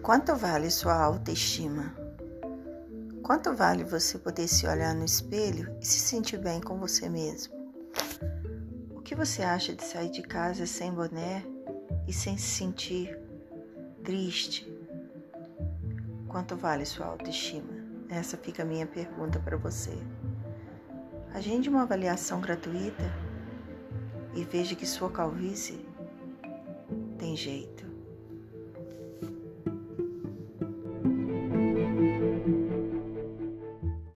Quanto vale sua autoestima? Quanto vale você poder se olhar no espelho e se sentir bem com você mesmo? O que você acha de sair de casa sem boné e sem se sentir triste? Quanto vale sua autoestima? Essa fica a minha pergunta para você. Agende uma avaliação gratuita e veja que sua calvície tem jeito.